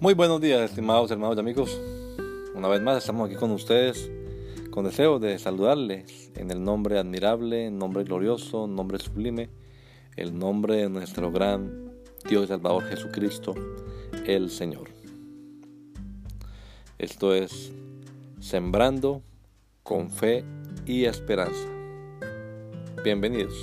Muy buenos días, estimados hermanos y amigos. Una vez más estamos aquí con ustedes con deseo de saludarles en el nombre admirable, nombre glorioso, nombre sublime, el nombre de nuestro gran Dios y Salvador Jesucristo, el Señor. Esto es Sembrando con Fe y Esperanza. Bienvenidos.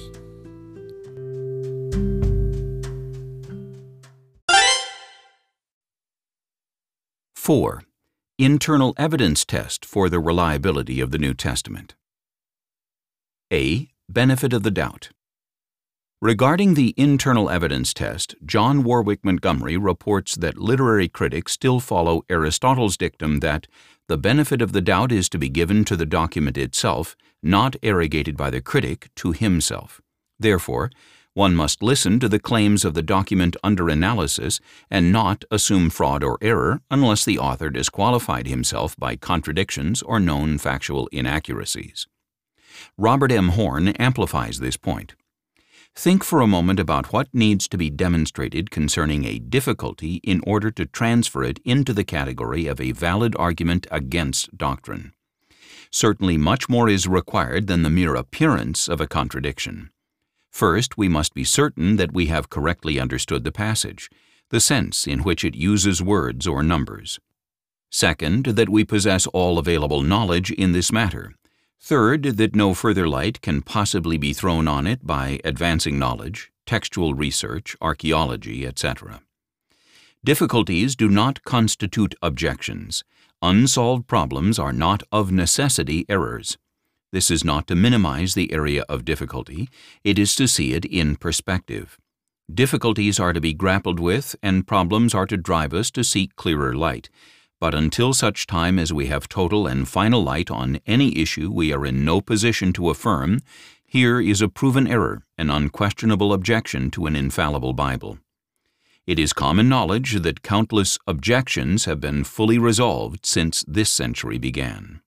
Four, internal evidence test for the reliability of the New Testament. A. Benefit of the doubt. Regarding the internal evidence test, John Warwick Montgomery reports that literary critics still follow Aristotle's dictum that the benefit of the doubt is to be given to the document itself, not arrogated by the critic to himself. Therefore, one must listen to the claims of the document under analysis and not assume fraud or error unless the author disqualified himself by contradictions or known factual inaccuracies. Robert M. Horne amplifies this point. Think for a moment about what needs to be demonstrated concerning a difficulty in order to transfer it into the category of a valid argument against doctrine. Certainly much more is required than the mere appearance of a contradiction. First, we must be certain that we have correctly understood the passage, the sense in which it uses words or numbers. Second, that we possess all available knowledge in this matter. Third, that no further light can possibly be thrown on it by advancing knowledge, textual research, archaeology, etc. Difficulties do not constitute objections. Unsolved problems are not of necessity errors. This is not to minimize the area of difficulty, it is to see it in perspective. Difficulties are to be grappled with, and problems are to drive us to seek clearer light. But until such time as we have total and final light on any issue we are in no position to affirm, here is a proven error, an unquestionable objection to an infallible Bible. It is common knowledge that countless objections have been fully resolved since this century began.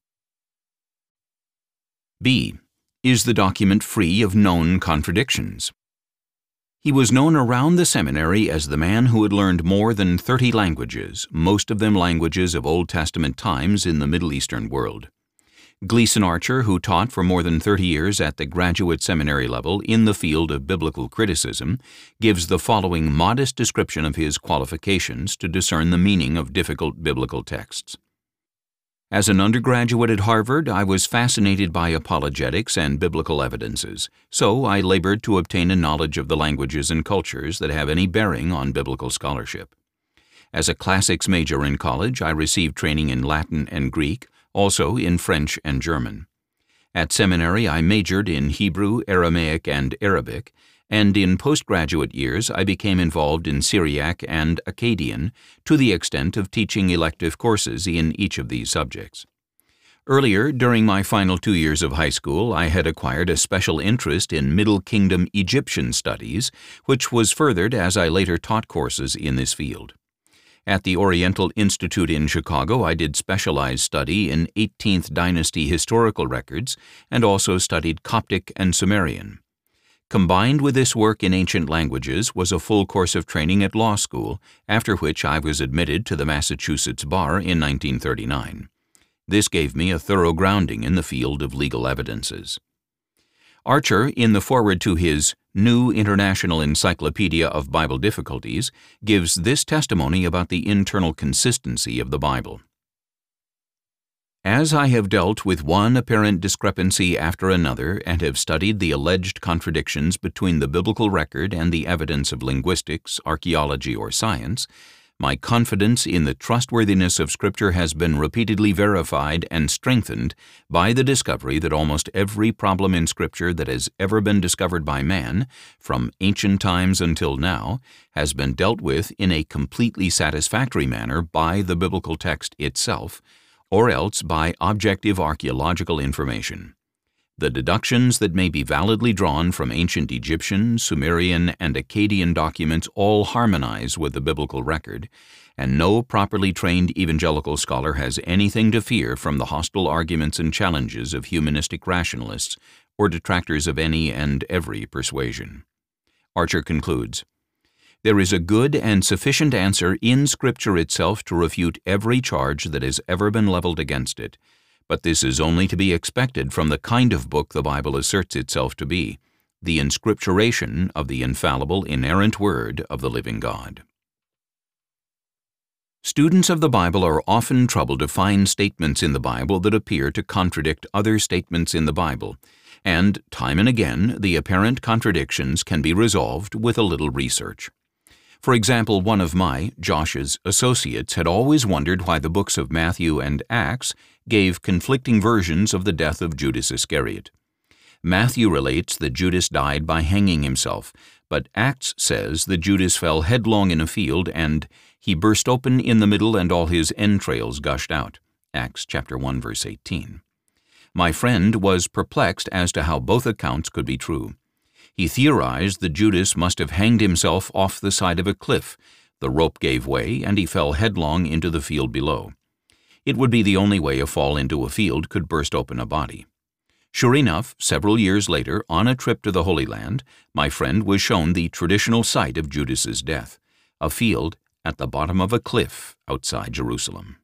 B. Is the document free of known contradictions? He was known around the seminary as the man who had learned more than 30 languages, most of them languages of Old Testament times in the Middle Eastern world. Gleason Archer, who taught for more than 30 years at the graduate seminary level in the field of biblical criticism, gives the following modest description of his qualifications to discern the meaning of difficult biblical texts. As an undergraduate at Harvard, I was fascinated by apologetics and biblical evidences, so I labored to obtain a knowledge of the languages and cultures that have any bearing on biblical scholarship. As a classics major in college, I received training in Latin and Greek, also in French and German. At seminary, I majored in Hebrew, Aramaic, and Arabic, and in postgraduate years I became involved in Syriac and Akkadian to the extent of teaching elective courses in each of these subjects. Earlier, during my final 2 years of high school, I had acquired a special interest in Middle Kingdom Egyptian studies, which was furthered as I later taught courses in this field. At the Oriental Institute in Chicago, I did specialized study in 18th dynasty historical records and also studied Coptic and Sumerian. Combined with this work in ancient languages was a full course of training at law school, after which I was admitted to the Massachusetts bar in 1939. This gave me a thorough grounding in the field of legal evidences. Archer, in the foreword to his New International Encyclopedia of Bible Difficulties, gives this testimony about the internal consistency of the Bible. As I have dealt with one apparent discrepancy after another and have studied the alleged contradictions between the biblical record and the evidence of linguistics, archaeology, or science, my confidence in the trustworthiness of Scripture has been repeatedly verified and strengthened by the discovery that almost every problem in Scripture that has ever been discovered by man, from ancient times until now, has been dealt with in a completely satisfactory manner by the biblical text itself, or else by objective archaeological information. The deductions that may be validly drawn from ancient Egyptian, Sumerian, and Akkadian documents all harmonize with the biblical record, and no properly trained evangelical scholar has anything to fear from the hostile arguments and challenges of humanistic rationalists or detractors of any and every persuasion. Archer concludes, There is a good and sufficient answer in Scripture itself to refute every charge that has ever been leveled against it, but this is only to be expected from the kind of book the Bible asserts itself to be, the inscripturation of the infallible, inerrant Word of the living God. Students of the Bible are often troubled to find statements in the Bible that appear to contradict other statements in the Bible, and, time and again, the apparent contradictions can be resolved with a little research. For example, one of Josh's associates had always wondered why the books of Matthew and Acts gave conflicting versions of the death of Judas Iscariot. Matthew relates that Judas died by hanging himself, but Acts says that Judas fell headlong in a field and he burst open in the middle and all his entrails gushed out. Acts chapter 1, verse 18. My friend was perplexed as to how both accounts could be true. He theorized that Judas must have hanged himself off the side of a cliff. The rope gave way, and he fell headlong into the field below. It would be the only way a fall into a field could burst open a body. Sure enough, several years later, on a trip to the Holy Land, my friend was shown the traditional site of Judas's death, a field at the bottom of a cliff outside Jerusalem.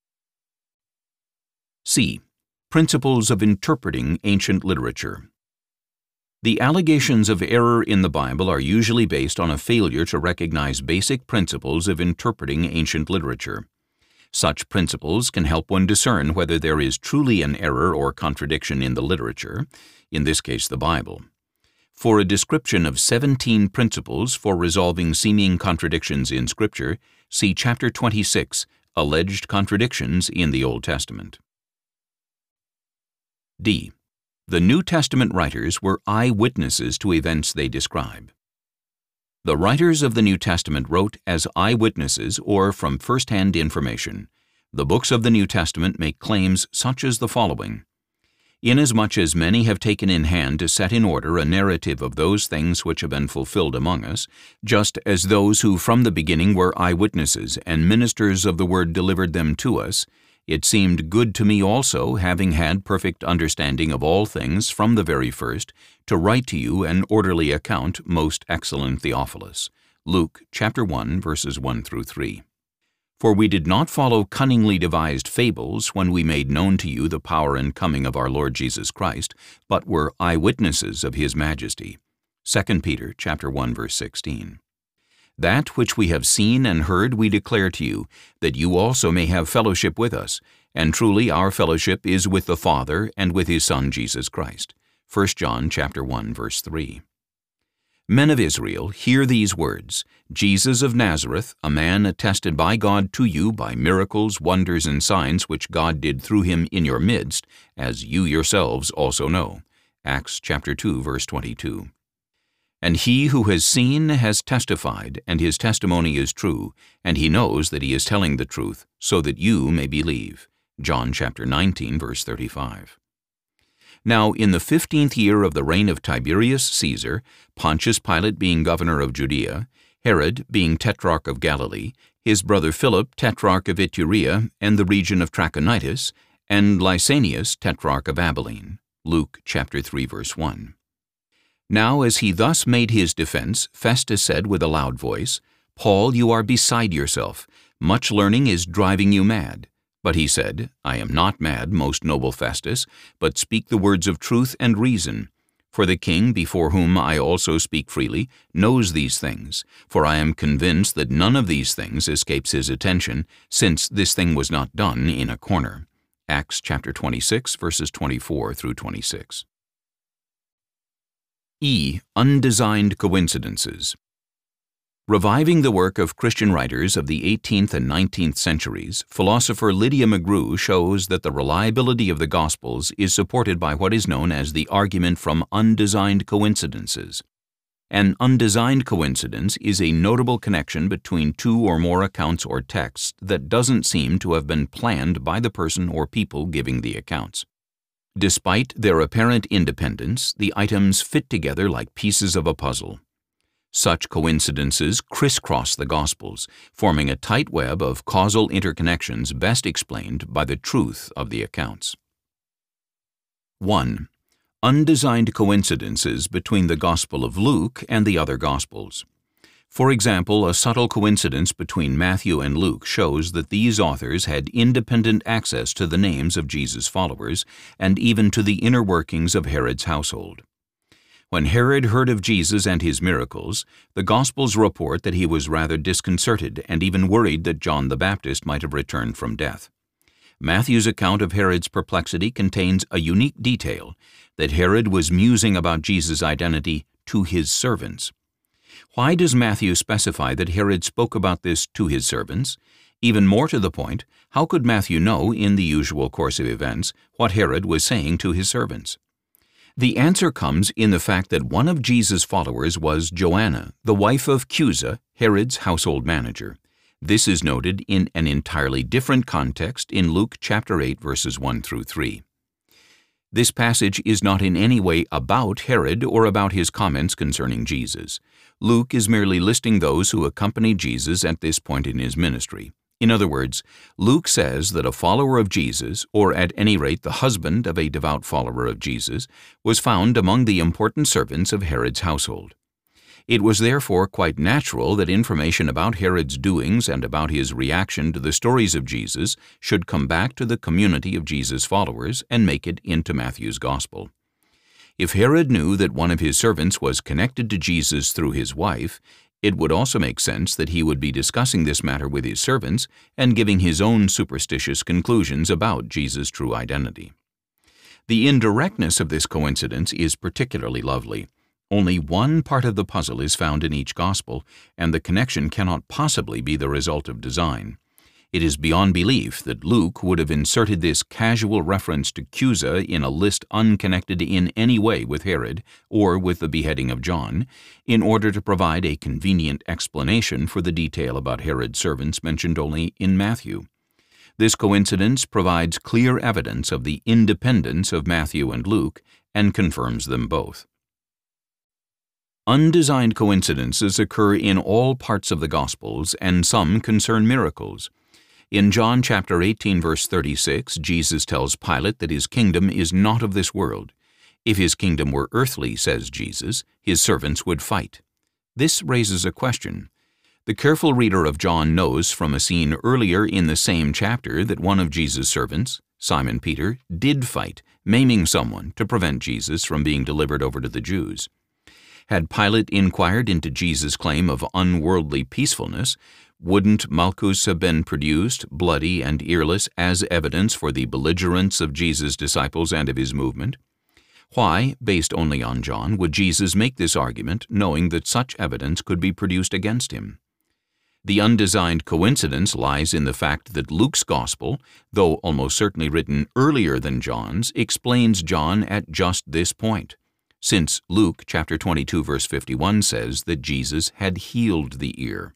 C. Principles of interpreting ancient literature. The allegations of error in the Bible are usually based on a failure to recognize basic principles of interpreting ancient literature. Such principles can help one discern whether there is truly an error or contradiction in the literature, in this case the Bible. For a description of 17 principles for resolving seeming contradictions in Scripture, see chapter 26, Alleged Contradictions in the Old Testament. D. The New Testament writers were eyewitnesses to events they describe. The writers of the New Testament wrote as eyewitnesses or from first-hand information. The books of the New Testament make claims such as the following. Inasmuch as many have taken in hand to set in order a narrative of those things which have been fulfilled among us, just as those who from the beginning were eyewitnesses and ministers of the word delivered them to us, it seemed good to me also, having had perfect understanding of all things from the very first, to write to you an orderly account, most excellent Theophilus. Luke chapter 1, verses 1 through 3. For we did not follow cunningly devised fables when we made known to you the power and coming of our Lord Jesus Christ, but were eyewitnesses of his majesty. 2 Peter chapter 1, verse 16. That which we have seen and heard we declare to you, that you also may have fellowship with us, and truly our fellowship is with the Father and with his Son Jesus Christ. 1 John chapter 1, verse 3. Men of Israel, hear these words, Jesus of Nazareth, a man attested by God to you by miracles, wonders, and signs which God did through him in your midst, as you yourselves also know. Acts chapter 2, verse 22. And he who has seen has testified, and his testimony is true, and he knows that he is telling the truth, so that you may believe. John chapter 19, verse 35. Now in the 15th year of the reign of Tiberius Caesar, Pontius Pilate being governor of Judea, Herod being tetrarch of Galilee, his brother Philip tetrarch of Iturea and the region of Trachonitis, and Lysanias tetrarch of Abilene. Luke chapter 3, verse 1. Now as he thus made his defense, Festus said with a loud voice, Paul, you are beside yourself. Much learning is driving you mad. But he said, I am not mad, most noble Festus, but speak the words of truth and reason. For the king, before whom I also speak freely, knows these things. For I am convinced that none of these things escapes his attention, since this thing was not done in a corner. Acts chapter 26, verses 24 through 26. E. Undesigned coincidences. Reviving the work of Christian writers of the 18th and 19th centuries, philosopher Lydia McGrew shows that the reliability of the Gospels is supported by what is known as the argument from undesigned coincidences. An undesigned coincidence is a notable connection between two or more accounts or texts that doesn't seem to have been planned by the person or people giving the accounts. Despite their apparent independence, the items fit together like pieces of a puzzle. Such coincidences crisscross the Gospels, forming a tight web of causal interconnections best explained by the truth of the accounts. 1. Undesigned coincidences between the Gospel of Luke and the other Gospels. For example, a subtle coincidence between Matthew and Luke shows that these authors had independent access to the names of Jesus' followers and even to the inner workings of Herod's household. When Herod heard of Jesus and his miracles, the Gospels report that he was rather disconcerted and even worried that John the Baptist might have returned from death. Matthew's account of Herod's perplexity contains a unique detail, that Herod was musing about Jesus' identity to his servants. Why does Matthew specify that Herod spoke about this to his servants? Even more to the point, how could Matthew know, in the usual course of events, what Herod was saying to his servants? The answer comes in the fact that one of Jesus' followers was Joanna, the wife of Chuza, Herod's household manager. This is noted in an entirely different context in Luke chapter 8, verses 1 through 3. This passage is not in any way about Herod or about his comments concerning Jesus. Luke is merely listing those who accompanied Jesus at this point in his ministry. In other words, Luke says that a follower of Jesus, or at any rate the husband of a devout follower of Jesus, was found among the important servants of Herod's household. It was therefore quite natural that information about Herod's doings and about his reaction to the stories of Jesus should come back to the community of Jesus' followers and make it into Matthew's Gospel. If Herod knew that one of his servants was connected to Jesus through his wife, it would also make sense that he would be discussing this matter with his servants and giving his own superstitious conclusions about Jesus' true identity. The indirectness of this coincidence is particularly lovely. Only one part of the puzzle is found in each Gospel, and the connection cannot possibly be the result of design. It is beyond belief that Luke would have inserted this casual reference to Chuza in a list unconnected in any way with Herod or with the beheading of John, in order to provide a convenient explanation for the detail about Herod's servants mentioned only in Matthew. This coincidence provides clear evidence of the independence of Matthew and Luke and confirms them both. Undesigned coincidences occur in all parts of the Gospels, and some concern miracles. In John chapter 18, verse 36, Jesus tells Pilate that his kingdom is not of this world. If his kingdom were earthly, says Jesus, his servants would fight. This raises a question. The careful reader of John knows from a scene earlier in the same chapter that one of Jesus' servants, Simon Peter, did fight, maiming someone to prevent Jesus from being delivered over to the Jews. Had Pilate inquired into Jesus' claim of unworldly peacefulness, wouldn't Malchus have been produced, bloody and earless, as evidence for the belligerence of Jesus' disciples and of his movement? Why, based only on John, would Jesus make this argument, knowing that such evidence could be produced against him? The undesigned coincidence lies in the fact that Luke's Gospel, though almost certainly written earlier than John's, explains John at just this point, since Luke chapter 22 verse 51 says that Jesus had healed the ear.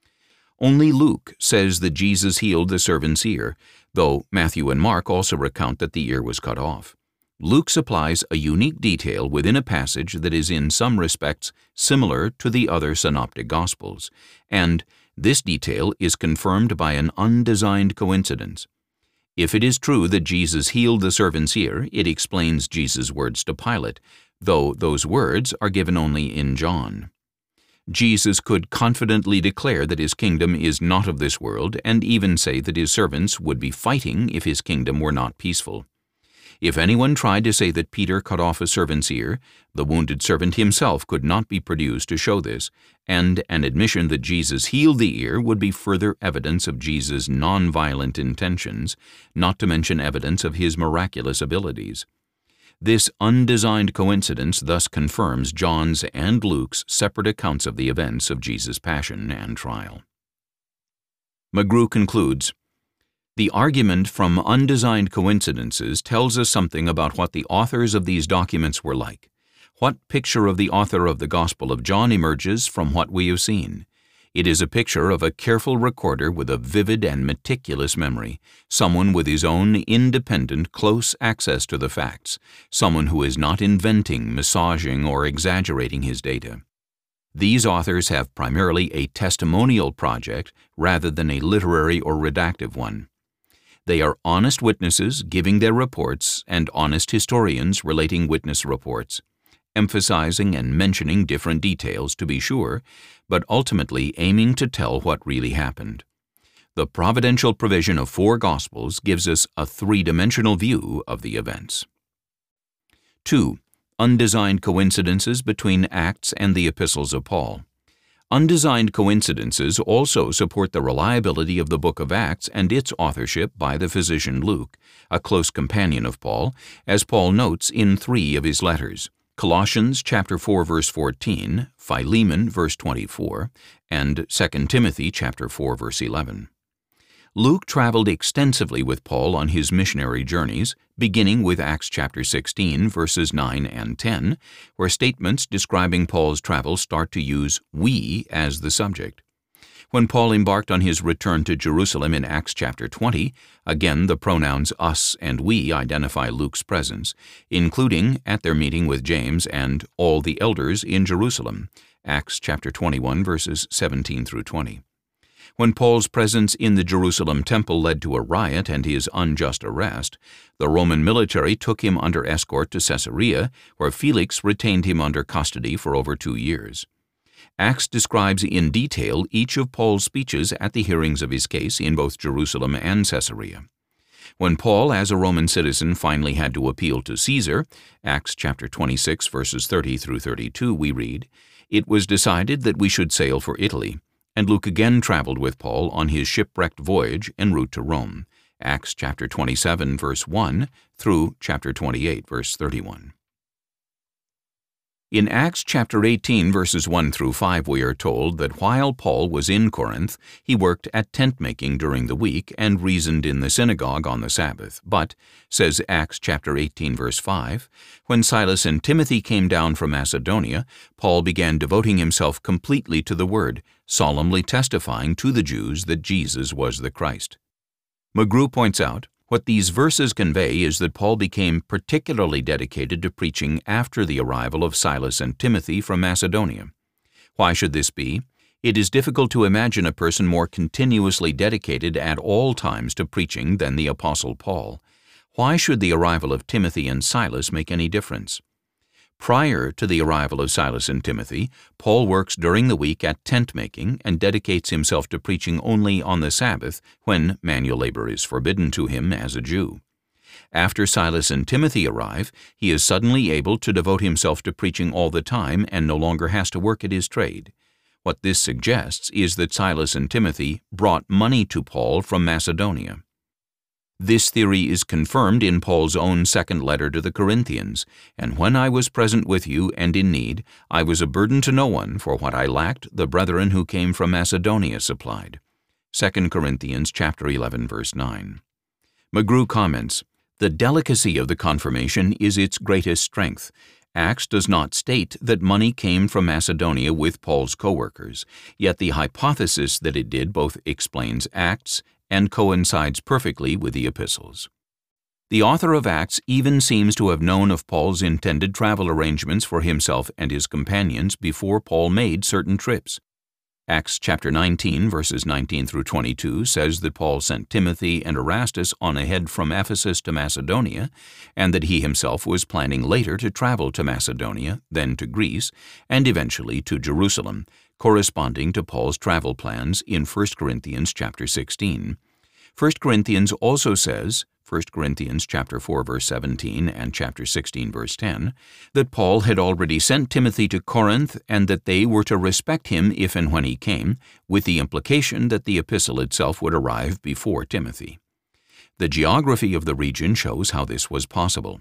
Only Luke says that Jesus healed the servant's ear, though Matthew and Mark also recount that the ear was cut off. Luke supplies a unique detail within a passage that is in some respects similar to the other synoptic Gospels, and this detail is confirmed by an undesigned coincidence. If it is true that Jesus healed the servant's ear, it explains Jesus' words to Pilate, though those words are given only in John. Jesus could confidently declare that his kingdom is not of this world, and even say that his servants would be fighting if his kingdom were not peaceful. If anyone tried to say that Peter cut off a servant's ear, the wounded servant himself could not be produced to show this, and an admission that Jesus healed the ear would be further evidence of Jesus' non-violent intentions, not to mention evidence of his miraculous abilities. This undesigned coincidence thus confirms John's and Luke's separate accounts of the events of Jesus' passion and trial. McGrew concludes, "The argument from undesigned coincidences tells us something about what the authors of these documents were like. What picture of the author of the Gospel of John emerges from what we have seen? It is a picture of a careful recorder with a vivid and meticulous memory, someone with his own independent, close access to the facts, someone who is not inventing, massaging, or exaggerating his data. These authors have primarily a testimonial project rather than a literary or redactive one. They are honest witnesses giving their reports and honest historians relating witness reports. emphasizing and mentioning different details to be sure, but ultimately aiming to tell what really happened. The providential provision of 4 Gospels gives us a three-dimensional view of the events. 2. Undesigned coincidences between Acts and the epistles of Paul. Undesigned coincidences also support the reliability of the book of Acts and its authorship by the physician Luke, a close companion of Paul, as Paul notes in 3 of his letters: Colossians chapter 4 verse 14, Philemon verse 24, and 2 Timothy chapter 4 verse 11. Luke traveled extensively with Paul on his missionary journeys, beginning with Acts chapter 16 verses 9 and 10, where statements describing Paul's travels start to use "we" as the subject. When Paul embarked on his return to Jerusalem in Acts chapter 20, again the pronouns "us" and "we" identify Luke's presence, including at their meeting with James and all the elders in Jerusalem, Acts chapter 21 verses 17 through 20. When Paul's presence in the Jerusalem temple led to a riot and his unjust arrest, the Roman military took him under escort to Caesarea, where Felix retained him under custody for over 2 years. Acts describes in detail each of Paul's speeches at the hearings of his case in both Jerusalem and Caesarea. When Paul, as a Roman citizen, finally had to appeal to Caesar, Acts chapter 26 verses 30 through 32, we read, "It was decided that we should sail for Italy, and Luke again traveled with Paul on his shipwrecked voyage en route to Rome," Acts chapter 27 verse 1 through chapter 28 verse 31. In Acts chapter 18 verses 1 through 5 we are told that while Paul was in Corinth, he worked at tent-making during the week and reasoned in the synagogue on the Sabbath. But, says Acts chapter 18 verse 5, when Silas and Timothy came down from Macedonia, Paul began devoting himself completely to the word, solemnly testifying to the Jews that Jesus was the Christ. McGrew points out, what these verses convey is that Paul became particularly dedicated to preaching after the arrival of Silas and Timothy from Macedonia. Why should this be? It is difficult to imagine a person more continuously dedicated at all times to preaching than the Apostle Paul. Why should the arrival of Timothy and Silas make any difference? Prior to the arrival of Silas and Timothy, Paul works during the week at tent-making and dedicates himself to preaching only on the Sabbath, when manual labor is forbidden to him as a Jew. After Silas and Timothy arrive, he is suddenly able to devote himself to preaching all the time and no longer has to work at his trade. What this suggests is that Silas and Timothy brought money to Paul from Macedonia. This theory is confirmed in Paul's own second letter to the Corinthians, "And when I was present with you and in need, I was a burden to no one, for what I lacked the brethren who came from Macedonia supplied." 2 Corinthians chapter 11 verse 9. McGrew comments, "The delicacy of the confirmation is its greatest strength. Acts does not state that money came from Macedonia with Paul's co-workers, yet the hypothesis that it did both explains Acts and coincides perfectly with the epistles." The author of Acts even seems to have known of Paul's intended travel arrangements for himself and his companions before Paul made certain trips. Acts chapter 19 verses 19 through 22 says that Paul sent Timothy and Erastus on ahead from Ephesus to Macedonia, and that he himself was planning later to travel to Macedonia, then to Greece, and eventually to Jerusalem, corresponding to Paul's travel plans in 1 Corinthians chapter 16. 1 Corinthians also says, 1 Corinthians chapter 4 verse 17 and chapter 16 verse 10, that Paul had already sent Timothy to Corinth and that they were to respect him if and when he came, with the implication that the epistle itself would arrive before Timothy. The geography of the region shows how this was possible.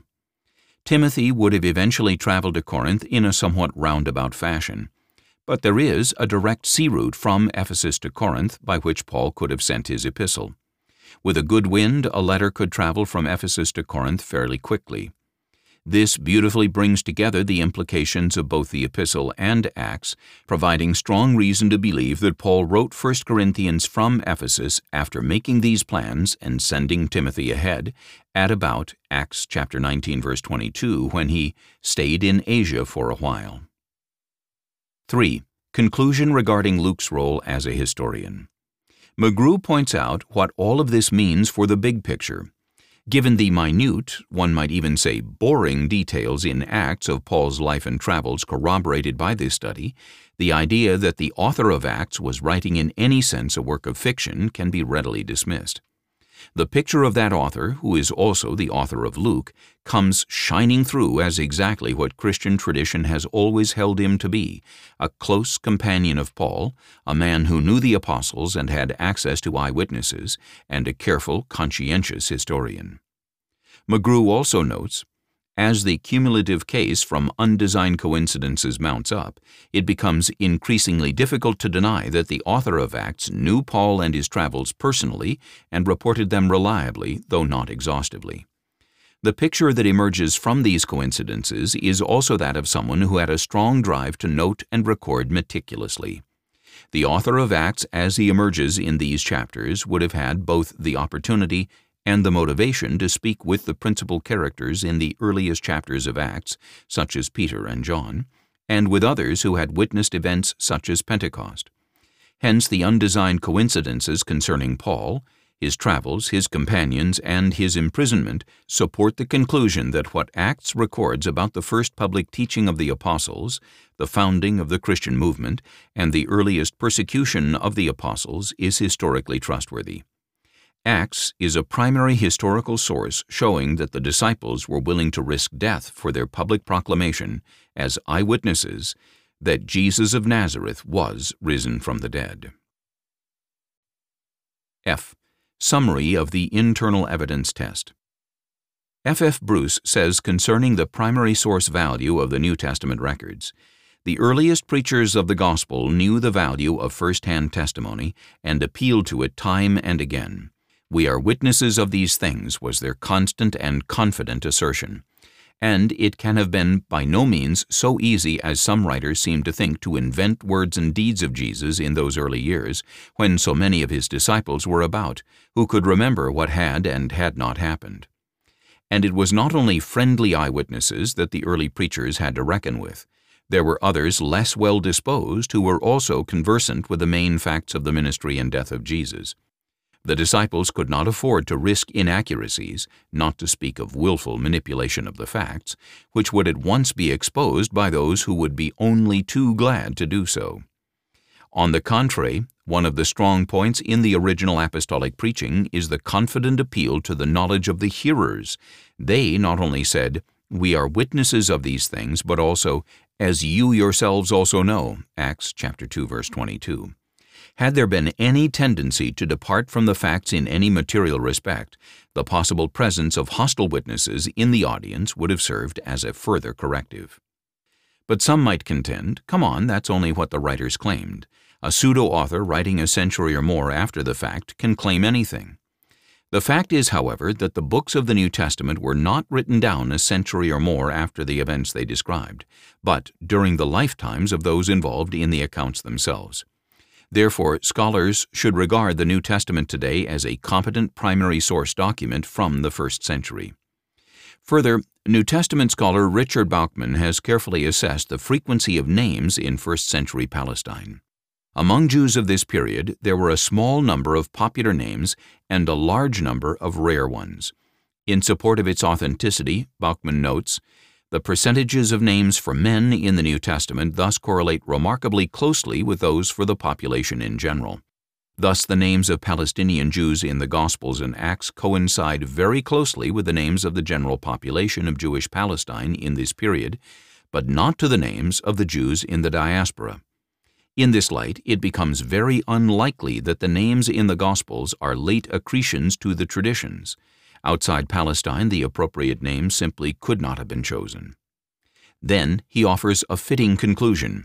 Timothy would have eventually traveled to Corinth in a somewhat roundabout fashion, but there is a direct sea route from Ephesus to Corinth by which Paul could have sent his epistle. With a good wind, a letter could travel from Ephesus to Corinth fairly quickly. This beautifully brings together the implications of both the epistle and Acts, providing strong reason to believe that Paul wrote 1 Corinthians from Ephesus after making these plans and sending Timothy ahead at about Acts chapter 19 verse 22, when he stayed in Asia for a while. 3. Conclusion regarding Luke's role as a historian. McGrew points out what all of this means for the big picture. Given the minute, one might even say boring details in Acts of Paul's life and travels corroborated by this study, the idea that the author of Acts was writing in any sense a work of fiction can be readily dismissed. The picture of that author, who is also the author of Luke, comes shining through as exactly what Christian tradition has always held him to be, a close companion of Paul, a man who knew the apostles and had access to eyewitnesses, and a careful, conscientious historian. McGrew also notes, as the cumulative case from undesigned coincidences mounts up, it becomes increasingly difficult to deny that the author of Acts knew Paul and his travels personally and reported them reliably, though not exhaustively. The picture that emerges from these coincidences is also that of someone who had a strong drive to note and record meticulously. The author of Acts, as he emerges in these chapters, would have had both the opportunity and the motivation to speak with the principal characters in the earliest chapters of Acts, such as Peter and John, and with others who had witnessed events such as Pentecost. Hence, the undesigned coincidences concerning Paul, his travels, his companions, and his imprisonment support the conclusion that what Acts records about the first public teaching of the apostles, the founding of the Christian movement, and the earliest persecution of the apostles is historically trustworthy. Acts is a primary historical source showing that the disciples were willing to risk death for their public proclamation as eyewitnesses that Jesus of Nazareth was risen from the dead. F. Summary of the Internal Evidence Test. F. F. Bruce says concerning the primary source value of the New Testament records, the earliest preachers of the gospel knew the value of first-hand testimony and appealed to it time and again. We are witnesses of these things was their constant and confident assertion, and it can have been by no means so easy as some writers seem to think to invent words and deeds of Jesus in those early years, when so many of his disciples were about, who could remember what had and had not happened. And it was not only friendly eyewitnesses that the early preachers had to reckon with. There were others less well disposed who were also conversant with the main facts of the ministry and death of Jesus. The disciples could not afford to risk inaccuracies, not to speak of willful manipulation of the facts, which would at once be exposed by those who would be only too glad to do so. On the contrary, one of the strong points in the original apostolic preaching is the confident appeal to the knowledge of the hearers. They not only said, "We are witnesses of these things," but also, "as you yourselves also know," Acts chapter 2, verse 22. Had there been any tendency to depart from the facts in any material respect, the possible presence of hostile witnesses in the audience would have served as a further corrective. But some might contend, come on, that's only what the writers claimed. A pseudo-author writing a century or more after the fact can claim anything. The fact is, however, that the books of the New Testament were not written down a century or more after the events they described, but during the lifetimes of those involved in the accounts themselves. Therefore, scholars should regard the New Testament today as a competent primary source document from the first century. Further, New Testament scholar Richard Bauckham has carefully assessed the frequency of names in first-century Palestine. Among Jews of this period, there were a small number of popular names and a large number of rare ones. In support of its authenticity, Bauckham notes, the percentages of names for men in the New Testament thus correlate remarkably closely with those for the population in general. Thus, the names of Palestinian Jews in the Gospels and Acts coincide very closely with the names of the general population of Jewish Palestine in this period, but not to the names of the Jews in the diaspora. In this light, it becomes very unlikely that the names in the Gospels are late accretions to the traditions. Outside Palestine, the appropriate name simply could not have been chosen. Then he offers a fitting conclusion.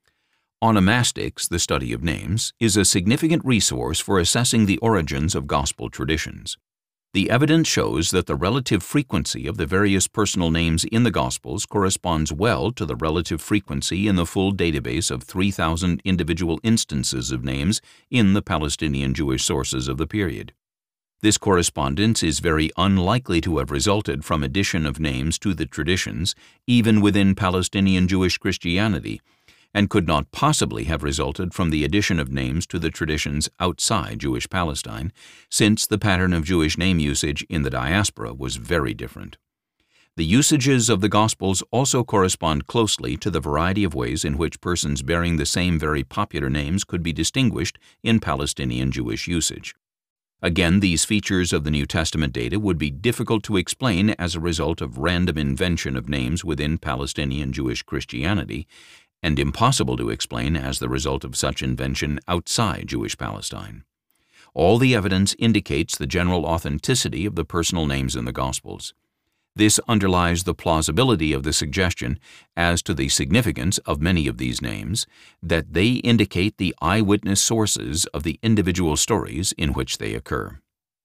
Onomastics, the study of names, is a significant resource for assessing the origins of gospel traditions. The evidence shows that the relative frequency of the various personal names in the Gospels corresponds well to the relative frequency in the full database of 3,000 individual instances of names in the Palestinian Jewish sources of the period. This correspondence is very unlikely to have resulted from addition of names to the traditions, even within Palestinian Jewish Christianity, and could not possibly have resulted from the addition of names to the traditions outside Jewish Palestine, since the pattern of Jewish name usage in the diaspora was very different. The usages of the Gospels also correspond closely to the variety of ways in which persons bearing the same very popular names could be distinguished in Palestinian Jewish usage. Again, these features of the New Testament data would be difficult to explain as a result of random invention of names within Palestinian Jewish Christianity, and impossible to explain as the result of such invention outside Jewish Palestine. All the evidence indicates the general authenticity of the personal names in the Gospels. This underlies the plausibility of the suggestion as to the significance of many of these names, that they indicate the eyewitness sources of the individual stories in which they occur.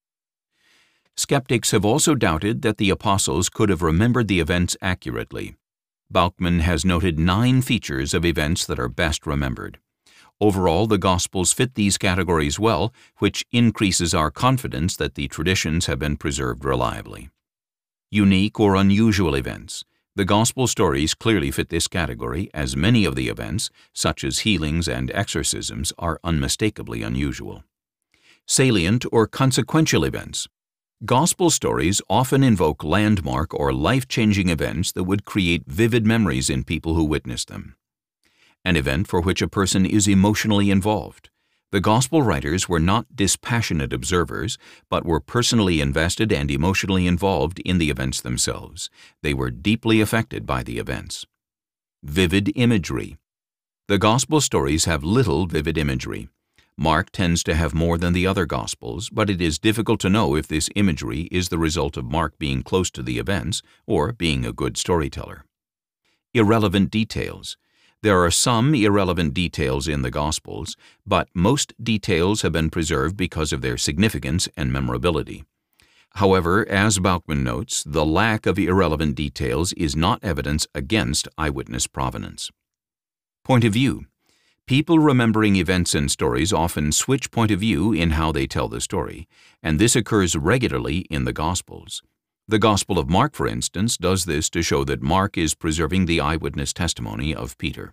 Skeptics have also doubted that the apostles could have remembered the events accurately. Bauckman has noted 9 features of events that are best remembered. Overall, the Gospels fit these categories well, which increases our confidence that the traditions have been preserved reliably. Unique or unusual events. The Gospel stories clearly fit this category, as many of the events, such as healings and exorcisms, are unmistakably unusual. Salient or consequential events. Gospel stories often invoke landmark or life-changing events that would create vivid memories in people who witness them. An event for which a person is emotionally involved. The Gospel writers were not dispassionate observers, but were personally invested and emotionally involved in the events themselves. They were deeply affected by the events. Vivid imagery. The Gospel stories have little vivid imagery. Mark tends to have more than the other Gospels, but it is difficult to know if this imagery is the result of Mark being close to the events or being a good storyteller. Irrelevant details. There are some irrelevant details in the Gospels, but most details have been preserved because of their significance and memorability. However, as Bauckman notes, the lack of irrelevant details is not evidence against eyewitness provenance. Point of view. People remembering events and stories often switch point of view in how they tell the story, and this occurs regularly in the Gospels. The Gospel of Mark, for instance, does this to show that Mark is preserving the eyewitness testimony of Peter.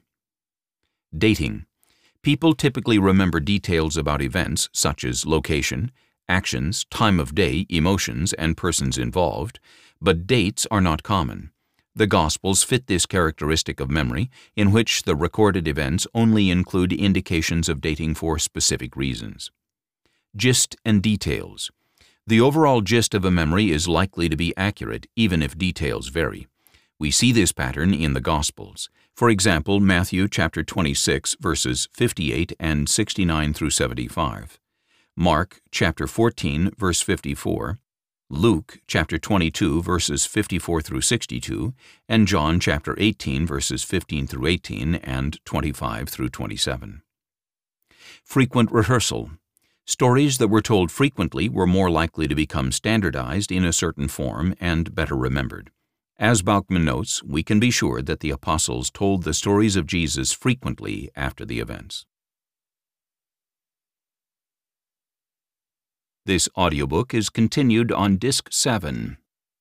Dating. People typically remember details about events such as location, actions, time of day, emotions, and persons involved, but dates are not common. The Gospels fit this characteristic of memory, in which the recorded events only include indications of dating for specific reasons. Gist and details. The overall gist of a memory is likely to be accurate, even if details vary. We see this pattern in the Gospels. For example, Matthew chapter 26, verses 58 and 69 through 75. Mark chapter 14, verse 54. Luke chapter 22, verses 54 through 62, and John chapter 18, verses 15 through 18 and 25 through 27. Frequent rehearsal. Stories that were told frequently were more likely to become standardized in a certain form and better remembered. As Bauckman notes, we can be sure that the apostles told the stories of Jesus frequently after the events. This audiobook is continued on Disc 7.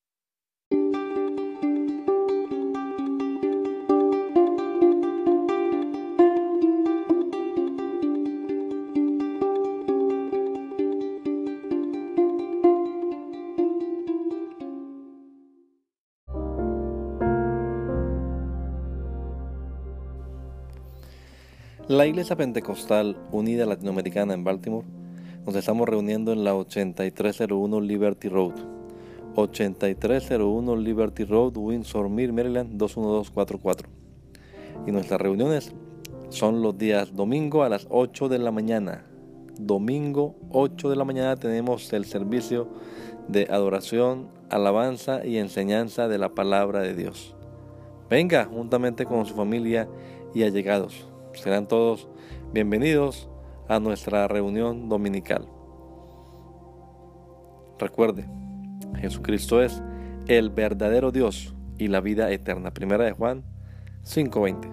La Iglesia Pentecostal Unida Latinoamericana en Baltimore nos estamos reuniendo en la 8301 Liberty Road, 8301 Liberty Road, Windsor Mill, Maryland 21244. Y nuestras reuniones son los días domingo a las 8 de la mañana. Domingo 8 de la mañana tenemos el servicio de adoración, alabanza y enseñanza de la palabra de Dios. Venga juntamente con su familia y allegados. Serán todos bienvenidos a nuestra reunión dominical. Recuerde, Jesucristo es el verdadero Dios y la vida eterna. Primera de Juan 5:20.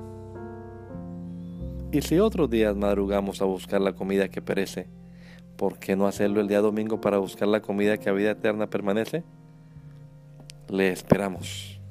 Y si otros días madrugamos a buscar la comida que perece, ¿por qué no hacerlo el día domingo para buscar la comida que a vida eterna permanece? Le esperamos.